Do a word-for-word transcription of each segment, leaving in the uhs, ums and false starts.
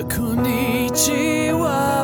Konnichiwa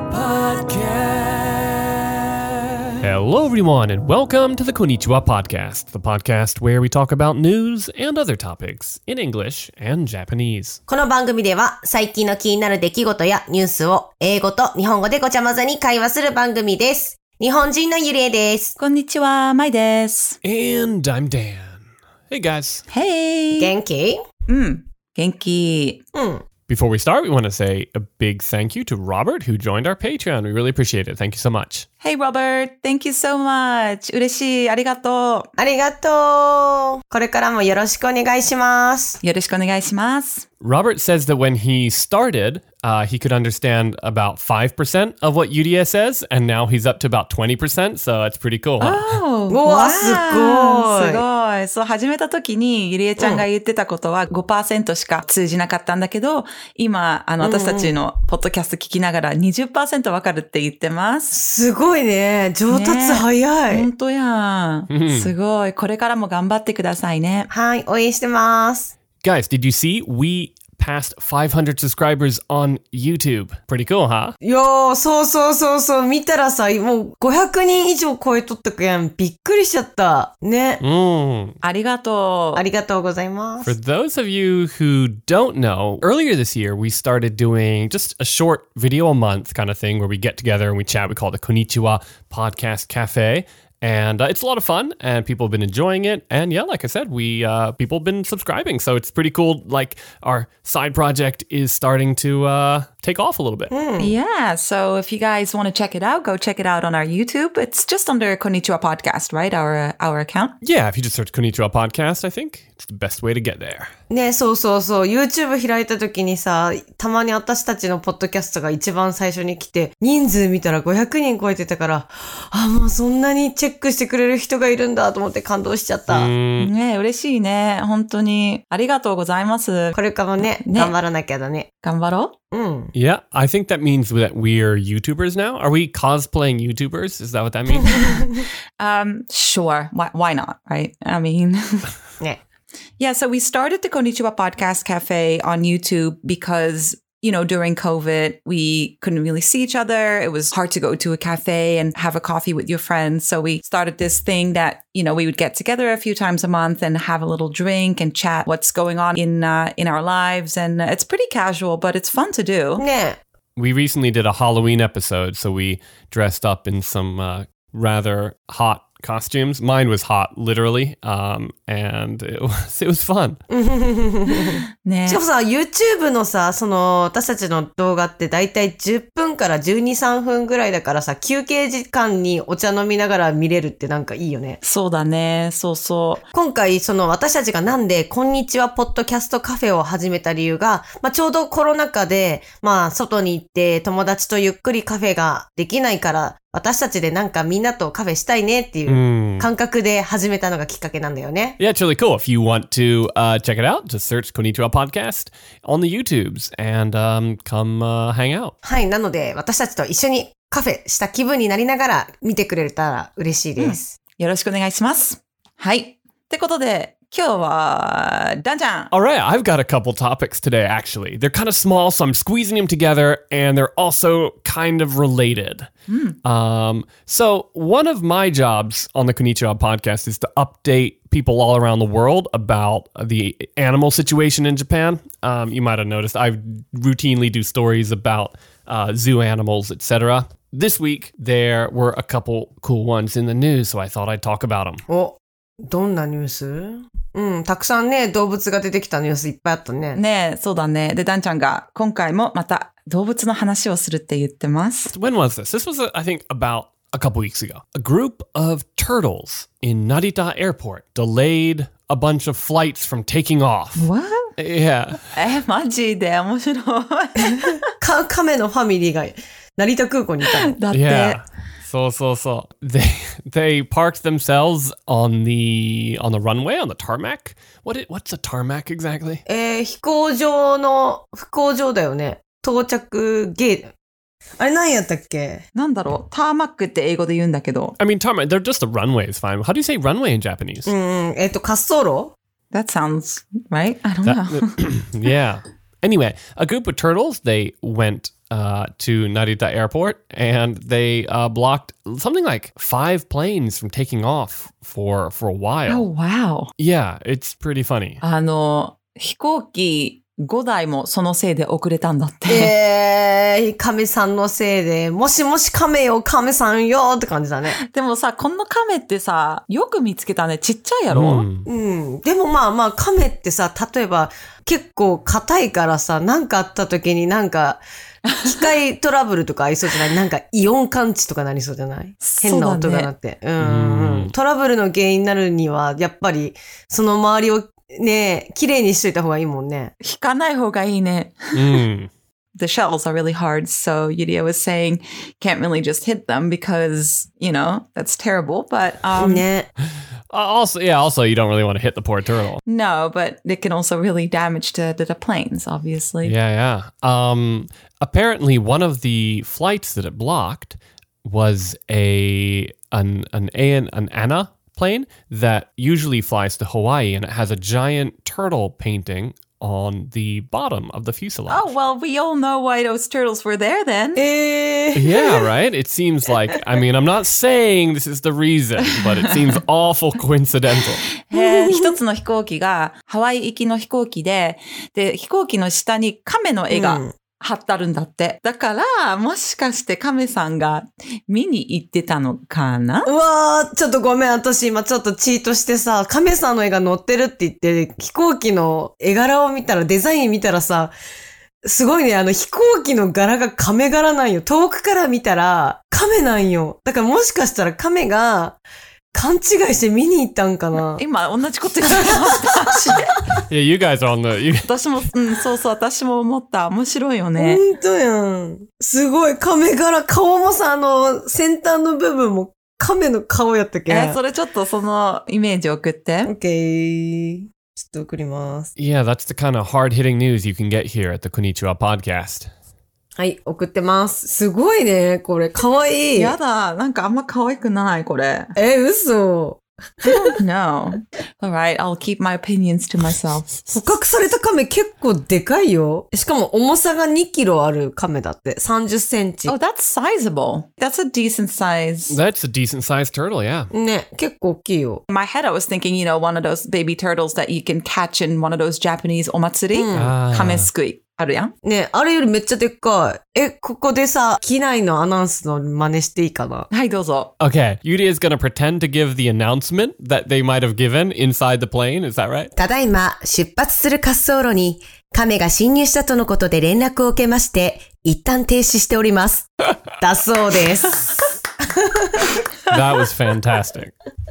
Podcast. Hello, everyone, and welcome to the Konnichiwa Podcast, the podcast where we talk about news and other topics in English and Japanese. この番組では最近の気になる出来事やニュースを英語と日本語でごちゃ混ぜに会話する番組です。日本人のゆりえです。 こんにちは、まいです。 And I'm Dan. Hey, guys. Hey! 元気？ うん、元気。 うん。 Before we start, we want to say a big thank you to Robert, who joined our Patreon. We really appreciate it. Thank you so much. Hey, Robert. Thank you so much. 嬉しい。ありがとう。 ありがとう。これからもよろしくお願いします。 よろしくお願いします。 Robert says that when he started, uh, he could understand about five percent of what Yuria says, and now he's up to about twenty percent, so it's pretty cool. Huh? Oh, うわ、すごい。 すごい。そう、始めた時にゆりえちゃんが言ってたことは ごパーセント しか通じなかったんだけど、今、あの、私たちのポッドキャスト聞きながら にじゅっパーセント わかるって言ってます。 すごいね。上達早い。 本当やん。すごい。これからも頑張ってくださいね。 はい、応援してます。 Guys, did you see? We passed five hundred subscribers on YouTube. Pretty cool, huh? いやー、そうそうそうそう。見たらさ、もうごひゃくにん以上超えとったくやん。びっくりしちゃった。ね。 Mm. ありがとう。 ありがとうございます。 For those of you who don't know, earlier this year we started doing just a short video a month kind of thing where we get together and we chat. We call it the Konnichiwa Podcast Cafe. And uh, it's a lot of fun, and people have been enjoying it. And yeah, like I said, we uh, people have been subscribing, so it's pretty cool. Like our side project is starting to uh, take off a little bit. Mm. Yeah, so if you guys want to check it out, go check it out on our YouTube. It's just under Konnichiwa Podcast, right? Our uh, our account. Yeah, if you just search Konnichiwa Podcast, I think it's the best way to get there. ね、そうそうそう。YouTube 開いた時にさ、たまに私たちのポッドキャストが一番最初に来て、人数見たらごひゃくにん超えてたから、あ、もうそんなにチェックしてくれる人がいるんだと思って感動しちゃった。 ね、嬉しいね。本当に。ありがとうございます。 これからもね、ね頑張らなきゃだね。 頑張ろう。うん。 Yeah, I think that means that we're YouTubers now. Are we cosplaying YouTubers? Is that what that means? um, sure. Why, why not, right? I mean... ね。 Yeah, so we started the Konnichiwa Podcast Cafe on YouTube because, you know, during COVID, we couldn't really see each other. It was hard to go to a cafe and have a coffee with your friends. So we started this thing that, you know, we would get together a few times a month and have a little drink and chat what's going on in uh, in our lives. And it's pretty casual, but it's fun to do. ね。 We recently did a Halloween episode, so we dressed up in some uh, rather hot costumes. Mine was hot, literally, um, and it was, it was fun. ね、しかもさ、YouTube のさ、その、私たちの動画ってだいたいじゅっぷんからじゅうに、さんぷんぐらいだからさ、休憩時間にお茶飲みながら見れるってなんかいいよね。 そうだね。そうそう。 今回、その私たちがなんで、こんにちはポッドキャストカフェを始めた理由が、まあちょうどコロナ禍で、まあ外に行って友達とゆっくりカフェができないから、私たちでなんかみんなとカフェしたいねっていう感覚で始めたのがきっかけなんだよね。 Yeah, it's really cool. If you want to uh, check it out, just search Konnichiwa Podcast on the YouTubes and um, come uh, hang out. はい、なので私たちと一緒にカフェした気分になりながら見てくれたら嬉しいです。 うん、よろしくお願いします。はい。ってことで、今日は、ダンちゃん。 All right, I've got a couple topics today, actually. They're kind of small, so I'm squeezing them together, and they're also kind of related. Mm. Um, so one of my jobs on the Konnichiwa podcast is to update people all around the world about the animal situation in Japan. Um, you might have noticed I routinely do stories about uh, zoo animals, et cetera. This week, there were a couple cool ones in the news, so I thought I'd talk about them. お、どんなニュース？うん、たくさんね、動物が出てきたニュースいっぱいあったね。 ねえ、そうだね。で、ダンちゃんが今回もまた動物の話をするって言ってます。 When was this? This was, I think, about a couple weeks ago. A group of turtles in Narita Airport delayed a bunch of flights from taking off. What? Yeah. え、マジで面白い。 か、亀のファミリーが成田空港にいたの。 だって。 Yeah. So, so, so. They they parked themselves on the on the runway, on the tarmac. What it, what's a tarmac exactly? えー、飛行場の、飛行場だよね。到着ゲート。あれ何やったっけ？ なんだろう、ターマックって英語で言うんだけど。 I mean, tarmac, they're just a runway is fine. How do you say runway in Japanese? うん、えっと、滑走路？ That sounds right? I don't know. That, yeah. Anyway, a group of turtles, they went uh, to Narita Airport and they uh, blocked something like five planes from taking off for, for a while. Oh, wow. Yeah, it's pretty funny. あの、飛行機ごだいもそのせいで遅れたんだって。 えー、亀さんのせいで、もしもし亀よ、亀さんよって感じだね。 でもさ、この亀ってさ、よく見つけたね。ちっちゃいやろ、 うん、 うん。でもまあまあ、亀ってさ、例えば結構硬いからさ、なんかあった時になんか、機械トラブルとかありそうじゃないなんかイオン感知とかなりそうじゃない変な音が鳴って。う、ね、ん。トラブルの原因になるには、やっぱり、その周りをねえ、綺麗にしといた方がいいもんね。 引かない方がいいね。 うん。 The shells are really hard, so Yuria was saying can't really just hit them because, you know, that's terrible, but... Um, ね。 Also, yeah, also you don't really want to hit the poor turtle. No, but it can also really damage the, the, the planes, obviously. Yeah, yeah. Um, apparently one of the flights that it blocked was a an an an, an ANA plane that usually flies to Hawaii, and it has a giant turtle painting on the bottom of the fuselage. Oh, well, we all know why those turtles were there then. Yeah, right? It seems like, I mean, I'm not saying this is the reason, but it seems awful coincidental. へー、一つの飛行機がハワイ行きの飛行機で、で、飛行機の下に亀の絵が、うん貼ってあるんだって。だから、もしかして亀さんが見に行ってたのかな？ うわー、ちょっとごめん。私今ちょっとチートしてさ、亀さんの絵が載ってるって言って、飛行機の絵柄を見たら、デザイン見たらさ、すごいね、あの飛行機の柄が亀柄なんよ。遠くから見たら亀なんよ。だからもしかしたら亀が、勘違いして見に行ったんかな。 今同じこと言ってました。 Yeah, you guys are on the... You... 私も、うん、そうそう、私も思った。面白いよね。 ほんとやん。すごい、亀柄、顔もさ、あの、先端の部分も亀の顔やったっけ？ え、それちょっとそのイメージ送って。 OK。ちょっと送ります。 Yeah, that's the kind of hard-hitting news you can get here at the Konnichiwa podcast. はい、送ってます。すごいね、これ。かわいい。 やだ、なんかあんま可愛くない、これ。 え、嘘。 I don't know. Alright, I'll keep my opinions to myself. 捕獲された亀結構でかいよ。しかも重さがにキロある亀だって。さんじゅっセンチ。 Oh, that's sizable. That's a decent size. That's a decent sized turtle, yeah. ね、結構大きいよ。 In my head, I was thinking, you know, one of those baby turtles that you can catch in one of those Japanese omatsuri. うん、 亀すくい。あるやんね、あれよりめっちゃでっかい。え、ここでさ、機内のアナウンスの真似していいかな？ はい、どうぞ。 Okay, Yuri is gonna pretend to give the announcement that they might have given inside the plane, is that right? ただいま、出発する滑走路に、亀が侵入したとのことで連絡を受けまして、一旦停止しております。だそうです。 That was fantastic.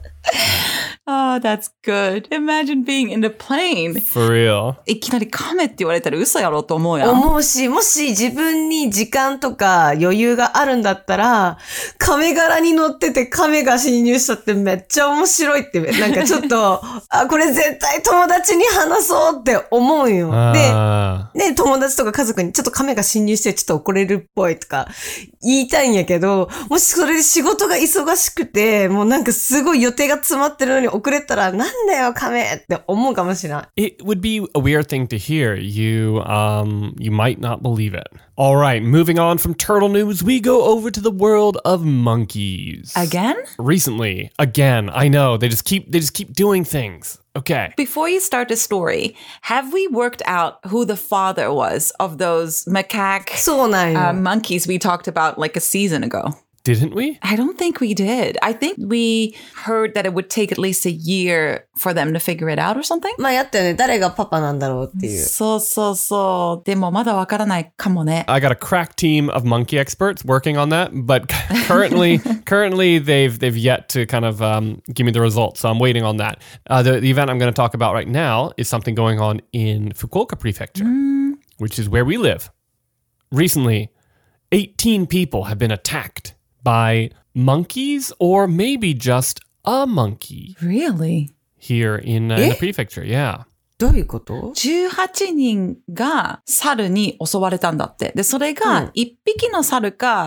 Oh, that's good. Imagine being in the plane. For real. いきなり亀って言われたら嘘やろと思うやん。 思うし、もし自分に時間とか余裕があるんだったら、亀柄に乗ってて亀が侵入したってめっちゃ面白いって、なんかちょっと、あ、これ絶対友達に話そうって思うよ。で、ね、友達とか家族にちょっと亀が侵入してちょっと怒れるっぽいとか言いたいんやけど、もしそれで仕事が忙しくて、もうなんかすごい予定が詰まってるのに遅れたらなんだよ亀って思うかもしれない。 It would be a weird thing to hear. You, um, you might not believe it. All right, moving on from turtle news, we go over to the world of monkeys. Again? Recently, again. I know they just keep they just keep doing things. Okay. Before you start the story, have we worked out who the father was of those macaque そうなんよ。 uh, monkeys we talked about like a season ago? Didn't we? I don't think we did. I think we heard that it would take at least a year for them to figure it out or something. まあやったよね。誰がパパなんだろうっていう。 そうそうそう。でもまだわからないかもね。 I got a crack team of monkey experts working on that, but currently, currently they've they've yet to kind of um, give me the results. So I'm waiting on that. Uh, the, the event I'm going to talk about right now is something going on in Fukuoka Prefecture, mm. which is where we live. Recently, eighteen people have been attacked by monkeys or maybe just a monkey. Really? Here in, uh, in the prefecture, yeah. どういうこと？ じゅうはちにんが猿に襲われたんだって。で、それがいっぴきの猿か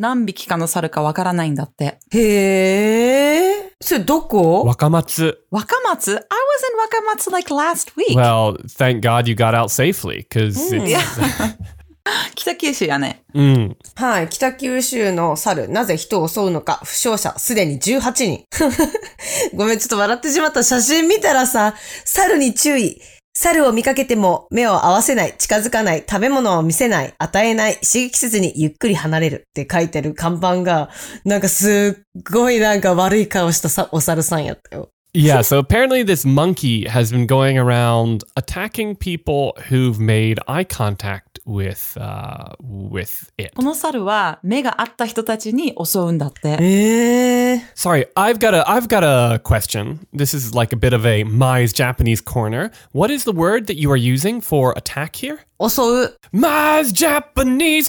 何匹かの猿かわからないんだって。 へえ。それどこ？ 若松。 若松? I was in 若松 like last week. Well, thank God you got out safely, because it's... 北九州やね。 うん。 はい。北九州の猿、なぜ人を襲うのか、負傷者、すでにじゅうはちにん。ごめん、ちょっと笑ってしまった。写真見たらさ、猿に注意。猿を見かけても目を合わせない、近づかない、食べ物を見せない、与えない、刺激せずにゆっくり離れるって書いてる看板が、なんかすっごいなんか悪い顔したさお猿さんやったよ。 Yeah, so apparently this monkey has been going around attacking people who've made eye contact with, uh, with it. この猿は目が合った人たちに襲うんだって。 えー。 Sorry, I've got a, I've got a question. This is like a bit of a Mai's Japanese corner. What is the word that you are using for attack here? 襲う。 Mai's Japanese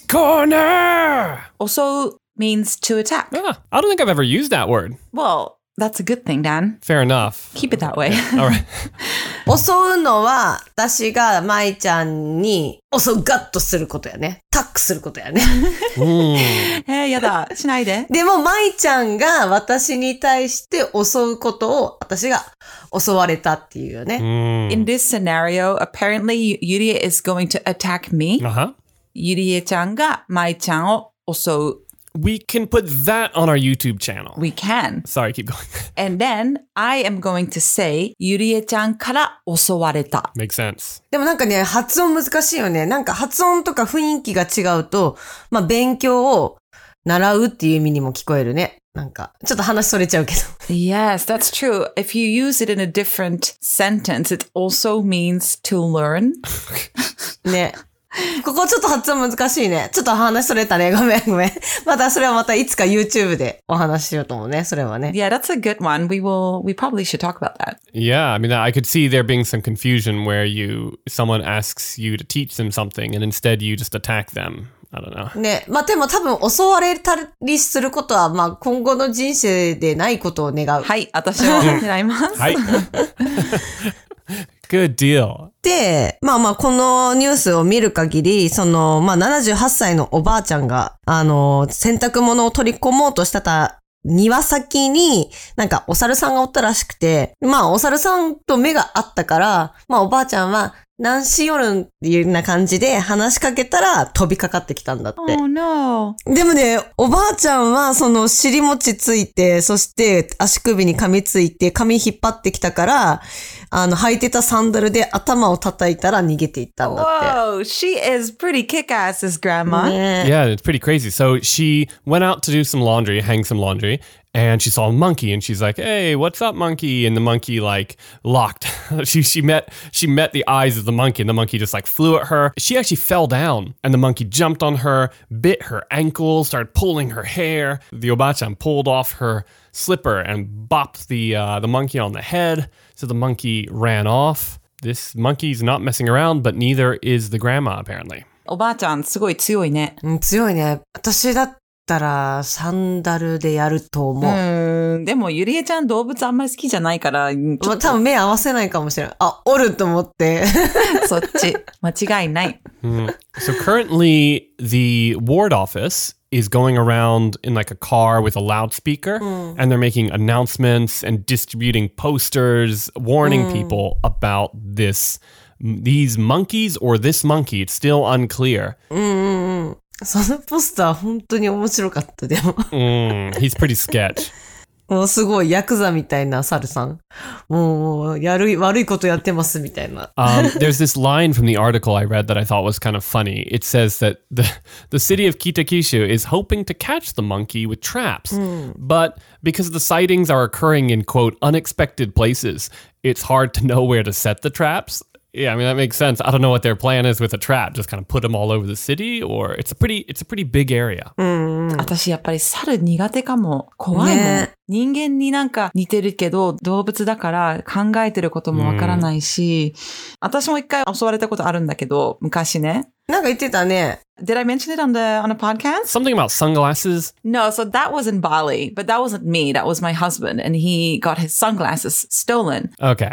corner! 襲う means to attack. Ah, I don't think I've ever used that word. Well,That's a good thing, Dan. Fair enough. Keep it that way. All right. 襲うのは、私が舞ちゃんに襲うガッとすることやね。タックすることやね。 えー、やだ。しないで。 でも、舞ちゃんが私に対して襲うことを、私が襲われたっていうよね。 In this scenario, apparently, Yurie is going to attack me. Uh-huh. ゆりえちゃんが舞ちゃんを襲う。 We can put that on our YouTube channel. We can. Sorry, keep going. And then I am going to say ゆりえちゃんから襲われた。 Makes sense. でもなんかね、発音難しいよね。なんか発音とか雰囲気が違うと、まあ勉強を習うっていう意味にも聞こえるね。なんか、ちょっと話それちゃうけど。 Yes, that's true. If you use it in a different sentence, it also means to learn. ね。ここちょっと発音難しいね。ちょっと話それたね。ごめんごめん。またそれはまたいつか YouTube でお話ししようと思うね。それはね。 Yeah, that's a good one. We will, we probably should talk about that. Yeah, I mean, I could see there being some confusion where you, someone asks you to teach them something and instead you just attack them. I don't know. ね。まあ、でも多分襲われたりすることは、まあ、今後の人生でないことを願う。 はい、私は狙います。 はい。Good deal. で、まあまあ、このニュースを見る限り、その、まあ、ななじゅうはっさいのおばあちゃんが、あの、洗濯物を取り込もうとしてた庭先に、なんかお猿さんがおったらしくて、まあ、お猿さんと目が合ったから、まあ、おばあちゃんは、何しよるんっていうような感じで話しかけたら飛びかかってきたんだって。 Oh no. でもね、おばあちゃんはその尻餅ついて、そして足首に噛みついて、髪引っ張ってきたから、あの、履いてたサンダルで頭を叩いたら逃げていったんだって。 Whoa, she is pretty kick-ass, this grandma. ね。 Yeah, it's pretty crazy. So she went out to do some laundry, hang some laundry, and she saw a monkey and she's like, "Hey, what's up, monkey?" And the monkey like locked. she she met she met the eyes of the monkey and the monkey just like flew at her. She actually fell down and the monkey jumped on her, bit her ankle, started pulling her hair. The obachan pulled off her slipper and bopped the uh, the monkey on the head. So the monkey ran off. This monkey's not messing around, but neither is the grandma apparently. おばあちゃんすごい強いね。 うん、強いね。私だったらサンダルでやると思う。 うん、でもゆりえちゃん動物あんまり好きじゃないから、ちょっと多分目合わせないかもしれない。あ、おると思って。 そっち間違いない。 Mm. So currently the ward office is going around in like a car with a loudspeaker mm. and they're making announcements and distributing posters warning mm. people about this these monkeys or this monkey. It's still unclear. うんうんうん。そのポスター本当に面白かったでも。 mm, he's pretty sketch. もうすごいヤクザみたいな猿さん。もうやる悪いことやってますみたいな。 um, there's this line from the article I read that I thought was kind of funny. It says that the the city of Kitakyushu is hoping to catch the monkey with traps, mm. but because the sightings are occurring in quote unexpected places, it's hard to know where to set the traps. Yeah, I mean that makes sense. I don't know what their plan is with a trap. Just kind of put them all over the city, or it's a pretty, it's a pretty big area. 私やっぱり猿苦手かも。怖いもん。ね、人間になんか似てるけど動物だから考えてることもわからないし、私も一回襲われたことあるんだけど、昔ね。 なんか言ってたね。 Did I mention it on the on a podcast? Something about sunglasses? No, so that was in Bali, but that wasn't me. That was my husband, and he got his sunglasses stolen. Okay.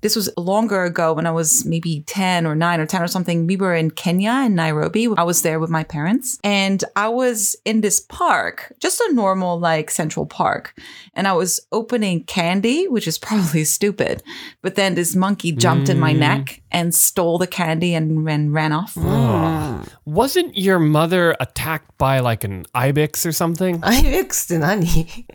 this was longer ago when I was maybe ten or nine or ten or something. We were in Kenya in Nairobi. I was there with my parents and I was in this park, just a normal like Central Park. And I was opening candy, which is probably stupid. But then this monkey jumped mm. in my neck and stole the candy and, and ran off. Oh. Wasn't your mother attacked by like an ibex or something? ibex って何?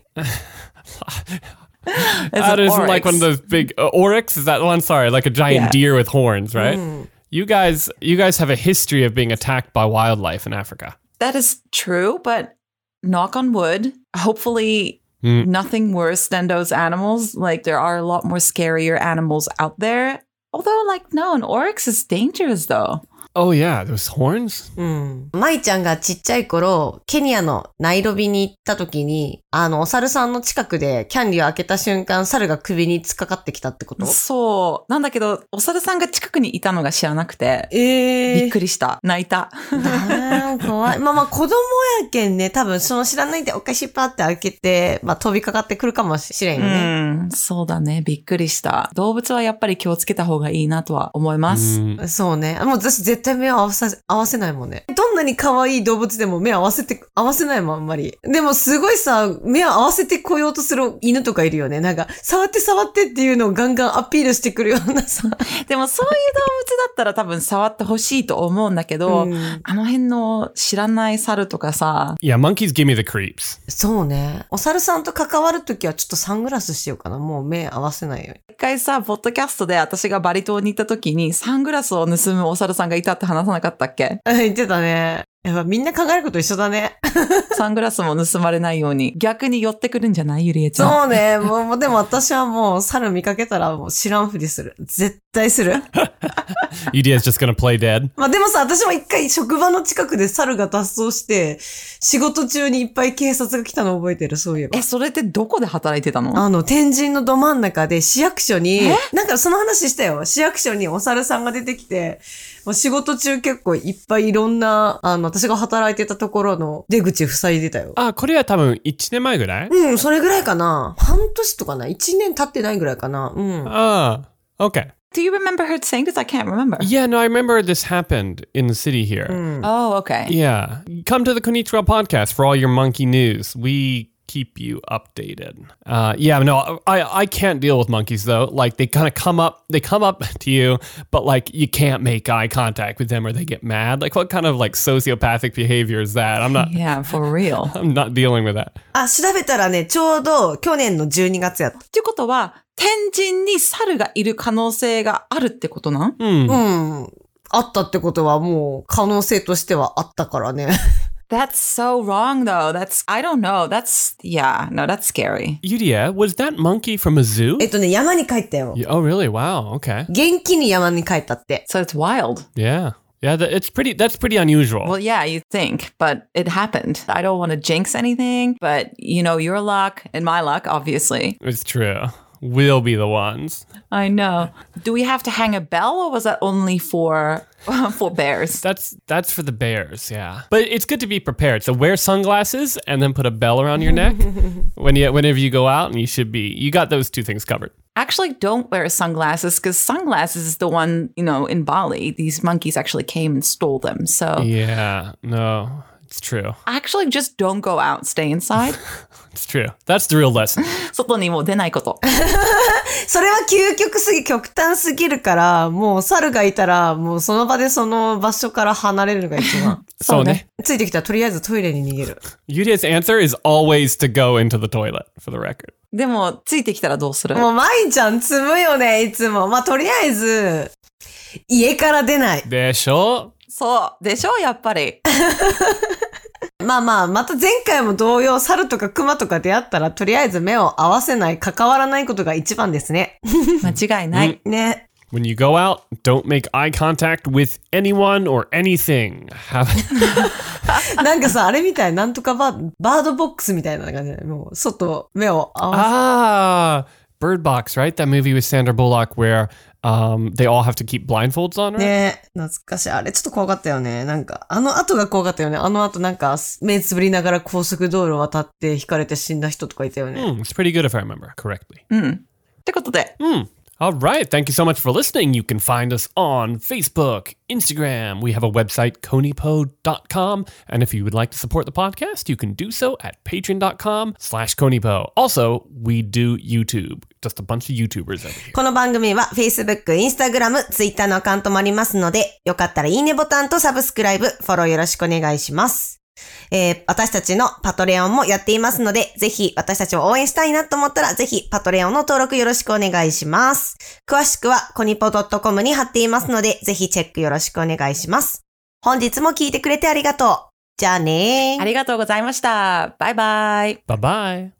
That isn't like one of those big uh, oryx. Is that the one? Sorry, like a giant yeah. deer with horns, right? Mm. You guys, you guys have a history of being attacked by wildlife in Africa. That is true, but knock on wood, hopefully mm. nothing worse than those animals. Like there are a lot more scarier animals out there. Although, like, no, an oryx is dangerous though. Oh yeah, those horns? うん。舞ちゃんがちっちゃい頃、ケニアのナイロビに行った時に、あの、お猿さんの近くでキャンディーを開けた瞬間、猿が首に突っかかってきたってこと？ そう。なんだけど、お猿さんが近くにいたのが知らなくて、 えー、 びっくりした。泣いた。 あー、怖い。まあまあ、子供やけんね、多分その知らないでお菓子パーって開けて、まあ飛びかかってくるかもしれんよね。 うん、そうだね。びっくりした。動物はやっぱり気をつけた方がいいなとは思います。 うそうね。もう私絶対目を合わせ、合わせないもんね。どんなに可愛い動物でも目合わせて、合わせないもん、あんまり。でもすごいさ、目を合わせてこようとする犬とかいるよね。なんか、触って触ってっていうのをガンガンアピールしてくるようなさ。 でもそういう動物だったら多分触ってほしいと思うんだけど、うん、あの辺の知らない猿とかさ。 Yeah, monkeys give me the creeps. そうね。お猿さんと関わるときはちょっとサングラスしようかな。もう目合わせないように。 一回さ、ポッドキャストで私がバリ島に行った時にサングラスを盗むお猿さんがいたって話さなかったっけ？ 言ってたね。やっぱみんな考えること一緒だね。 サングラスも盗まれないように逆に寄ってくるんじゃない？ゆりえちゃん。 そうね。もう、でも私はもう猿見かけたらもう知らんふりする。絶対する。 ゆりえ is just gonna play dead. まあでもさ、私も一回職場の近くで猿が脱走して、仕事中にいっぱい警察が来たの覚えてる、そういえば。 え、それってどこで働いてたの？ あの、天神のど真ん中で市役所に、なんかその話したよ。市役所にお猿さんが出てきて、もう仕事中結構いっぱいいろんな、あの、私が働いてたところの出口塞いでたよ。 あ、これは多分いちねんまえぐらい？ うん、それぐらいかな。半年とかな。いちねん経ってないぐらいかな。うん。 ああ、okay. Do you remember her saying this? I can't remember. Yeah, no, I remember this happened in the city here. Mm. Oh, okay. Yeah. Come to the Konnichiwa podcast for all your monkey news. We keep you updated. Uh, yeah, no, I, I can't deal with monkeys though. Like they kind of come up, they come up to you, but like you can't make eye contact with them or they get mad. Like what kind of like sociopathic behavior is that? I'm not. Yeah, for real. I'm not dealing with that. あ、調べたらね、ちょうど去年のじゅうにがつやった。 っていうことは、天神に猿がいる可能性があるってことなん？ うん。 うん。あったってことはもう可能性としてはあったからね。 That's so wrong though. That's, I don't know. That's, yeah, no, that's scary. Yuria, was that monkey from a zoo? えっとね、山に帰ったよ。 Oh, really? Wow. Okay. 元気に山に帰ったって。 So it's wild. Yeah. Yeah, that, it's pretty, that's pretty unusual. Well, yeah, you think, but it happened. I don't want to jinx anything, but you know, your luck and my luck, obviously. It's true. We'll be the ones. I know. Do we have to hang a bell or was that only for for bears? That's that's for the bears, yeah. But it's good to be prepared. So wear sunglasses and then put a bell around your neck when you whenever you go out, and you should be you got those two things covered. Actually, don't wear sunglasses because sunglasses is the one, you know, in Bali. These monkeys actually came and stole them. So yeah, no, it's true. Actually, just don't go out. Stay inside. It's true. That's the real lesson. 外にも出ないこと。 それは究極すぎ、極端すぎるから、もう猿がいたら、もうその場でその場所から離れるのが一番。 そうね。 ついてきたらとりあえずトイレに逃げる。 Yuria's answer is always to go into the toilet, for the record. でも、ついてきたらどうする？ もう、まいちゃん積むよね、いつも。まあ、とりあえず、家から出ない。 でしょ？ そう。でしょ？やっぱり。 まあまあ、また前回も同様、猿とか熊とか出会ったら、とりあえず目を合わせない、関わらないことが一番ですね。 間違いない。 ね。 When you go out, don't make eye contact with anyone or anything. なんかさ、あれみたい、なんとかバー、バードボックスみたいな感じで、もう、外、目を合わせ。 Ah, Bird Box, right? That movie with Sandra Bullock where um, they all have to keep blindfolds on, right? ねえ、懐かしい。あれちょっと怖かったよね。なんか、あの後が怖かったよね。あの後なんか、目つぶりながら高速道路を渡って引かれて死んだ人とかいたよね。 Mm, it's pretty good if I remember correctly. うん。ってことで。 うん。 All right. Thank you so much for listening. You can find us on Facebook, Instagram. We have a website, konipo dot com. And if you would like to support the podcast, you can do so at patreon.com slash konipo. Also, we do YouTube. Just a bunch of YouTubers over here. この番組は Facebook、Instagram、Twitter のアカウントもありますので、よかったらいいねボタンとサブスクライブ、フォローよろしくお願いします。えー、私たちのパトレオンもやっていますので、ぜひ私たちを応援したいなと思ったら、ぜひパトレオンの登録よろしくお願いします。詳しくはコニポ .com に貼っていますので、ぜひチェックよろしくお願いします。本日も聞いてくれてありがとう。じゃあねー。 ありがとうございました。バイバイ。 Bye bye.